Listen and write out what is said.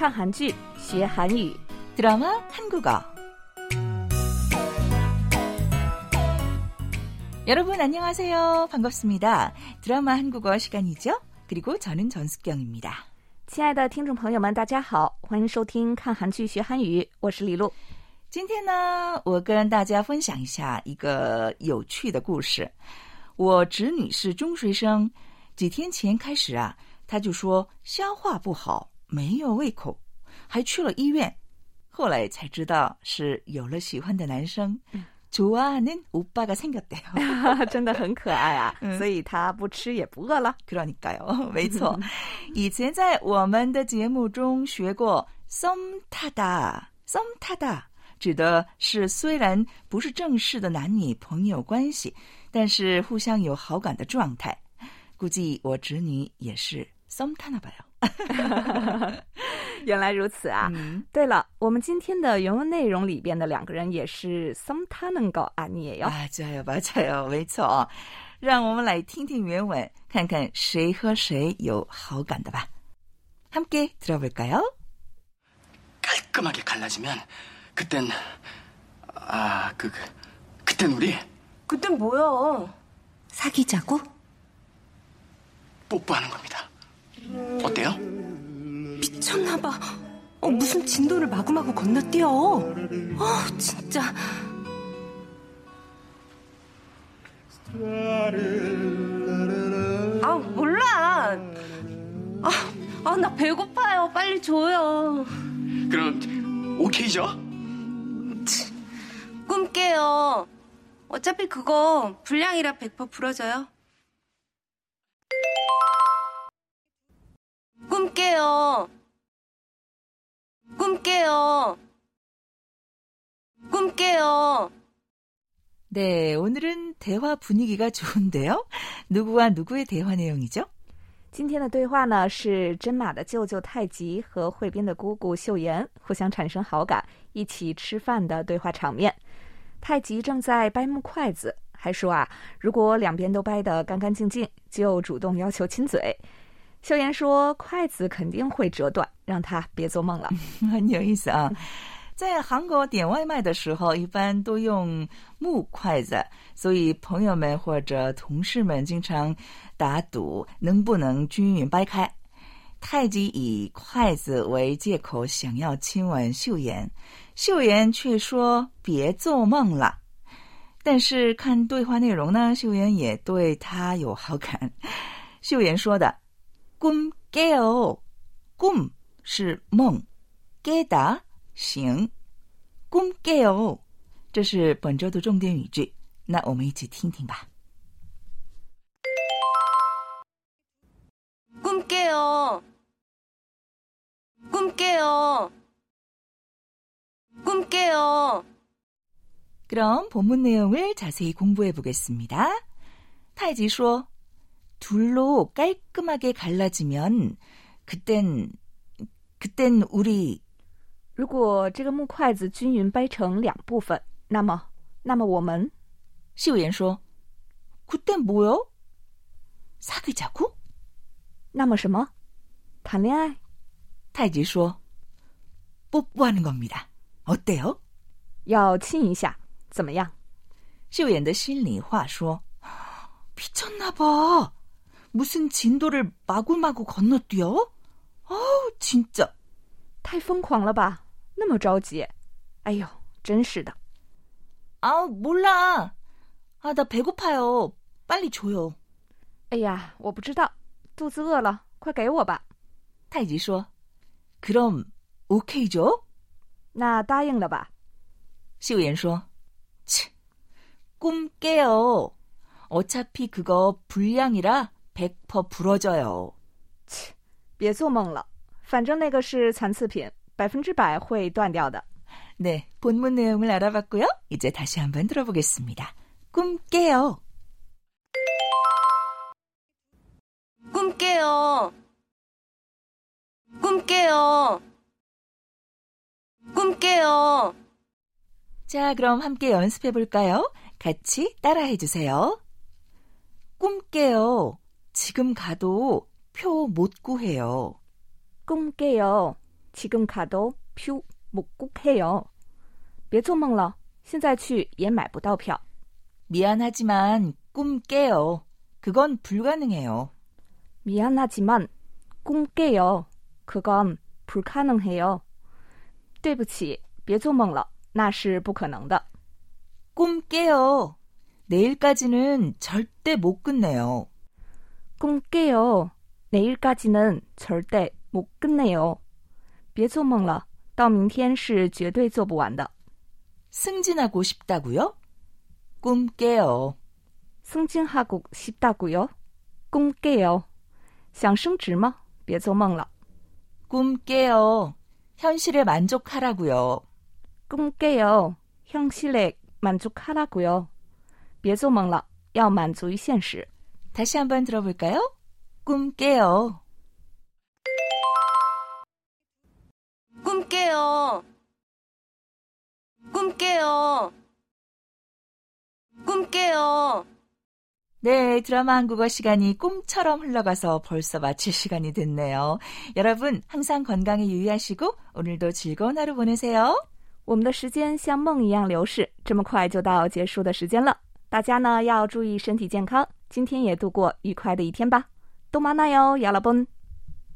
看韩剧学韩语 드라마 한국어. 여러분 안녕하세요. 반갑습니다. 드라마 한국어 시간이죠? 그리고 저는 전숙경입니다. 亲爱的听众朋友们大家好，欢迎收听看韩剧学韩语，我是李璐。 今天呢，我跟大家分享一下一个有趣的故事。我侄女是中学生，几天前开始啊，她就说消化不好，没有胃口，还去了医院。后来才知道是有了喜欢的男生，좋아하는 오빠가 생겼대요. 真的很可爱啊，所以她不吃也不饿了。 그러니까요. 没错。以前在我们的节目中学过썸 타다， 썸 타다指的是虽然不是正式的男女朋友关系，但是互相有好感的状态。估计我侄女也是썸 타나 봐요. 原来如此啊。对了，我们今天的原文内容里边的两个人也是썸 타는 거 아니에요? 맞아요, 맞아요. 没错。让我们来听听原文，看看谁和谁有好感的吧。함께 들어볼까요? 깔끔하게 갈라지면 그땐 그땐 우리 그땐 뭐야? 사귀자고? 뽀뽀하는 겁니다. 어때요? 미쳤나봐. 무슨 진도를 마구마구 건너뛰어. 진짜. 몰라. 나 배고파요. 빨리 줘요. 그럼 오케이죠? 꿈 깨요. 어차피 그거 불량이라 100% 풀어져요. 꿈 깨요. 꿈 깨요. 꿈 깨요. 네, 오늘은 대화 분위기가 좋은데요. 누구와 누구의 대화 내용이죠? 今天的对话呢是真马的舅舅太极和惠斌的姑姑秀妍互相产生好感，一起吃饭的对话场面。太极正在掰木筷子，还说如果两边都掰得干干净净，就主动要求亲嘴。秀妍说筷子肯定会折断，让他别做梦了。 很有意思啊。在韩国点外卖的时候一般都用木筷子，所以朋友们或者同事们经常打赌能不能均匀掰开。太极以筷子为借口想要亲吻秀妍，秀妍却说别做梦了。但是看对话内容呢，秀妍也对他有好感。秀妍说的꿈 깨요， 꿈是梦， 깨다醒， 꿈 깨요， 这是本周的重点语句。那我们一起听听吧。 꿈 깨요. 꿈 깨요. 꿈 깨요. 그럼 본문 내용을 자세히 공부해 보겠습니다. 타이지说 둘로 깔끔하게 갈라지면 그땐 우리 如果这个木筷子均匀掰成两部分，那么我们秀妍说 그땐 뭐요? 사귀자고? 那么什么？谈恋爱？ 太极说 뽀뽀하는 겁니다. 어때요? 要亲一下，怎么样？ 秀妍的心里话说 미쳤나 봐. 무슨 진도를 마구마구 건너뛰어? 진짜. 太疯狂了吧，那么着急。哎呦，真是的。 몰라. 나 배고파요. 빨리 줘요. 哎呀，我不知道，肚子饿了，快给我吧。 太极说 그럼 오케이죠? 那答应了吧。 秀妍说 꿈 깨요. 어차피 그거 불량이라 100% 부러져요. 别做梦了，反正那个是残次品，100%会断掉的。 네, 본문 내용을 알아봤고요. 이제 다시 한번 들어보겠습니다. 꿈 깨요. 꿈 깨요. 꿈 깨요. 꿈 깨요. 자, 그럼 함께 연습해 볼까요? 같이 따라해 주세요. 꿈 깨요. 지금 가도 표 못 구해요. 꿈 깨요. 지금 가도 표 못 구해요. 别做梦了，现在去也买不到票。 미안하지만 꿈 깨요. 그건 불가능해요. 미안하지만 꿈 깨요. 그건 불가능해요. 对不起，别做梦了，那是不可能的。 꿈 깨요. 내일까지는 절대 못 끝내요. 꿈 깨요. 내일까지는 절대 못 끝내요. 别做梦了，到明天是绝对做不完的。 승진하고 싶다고요? 꿈 깨요. 승진하고 싶다고요? 꿈 깨요. 想升职吗？别做梦了。 꿈 깨요. 현실에 만족하라고요. 꿈 깨요. 현실에 만족하라고요. 别做梦了，要满足于现实。 다시 한번 들어볼까요? 꿈 깨요. 꿈 깨요. 꿈 깨요. 꿈 깨요. 네, 드라마 한국어 시간이 꿈처럼 흘러가서 벌써 마칠 시간이 됐네요. 여러분, 항상 건강에 유의하시고 오늘도 즐거운 하루 보내세요. 我们的时间像梦一样流逝，这么快就到结束的时间了。大家呢要注意身体健康，今天也度过愉快的一天吧。또 만나요, 여러분。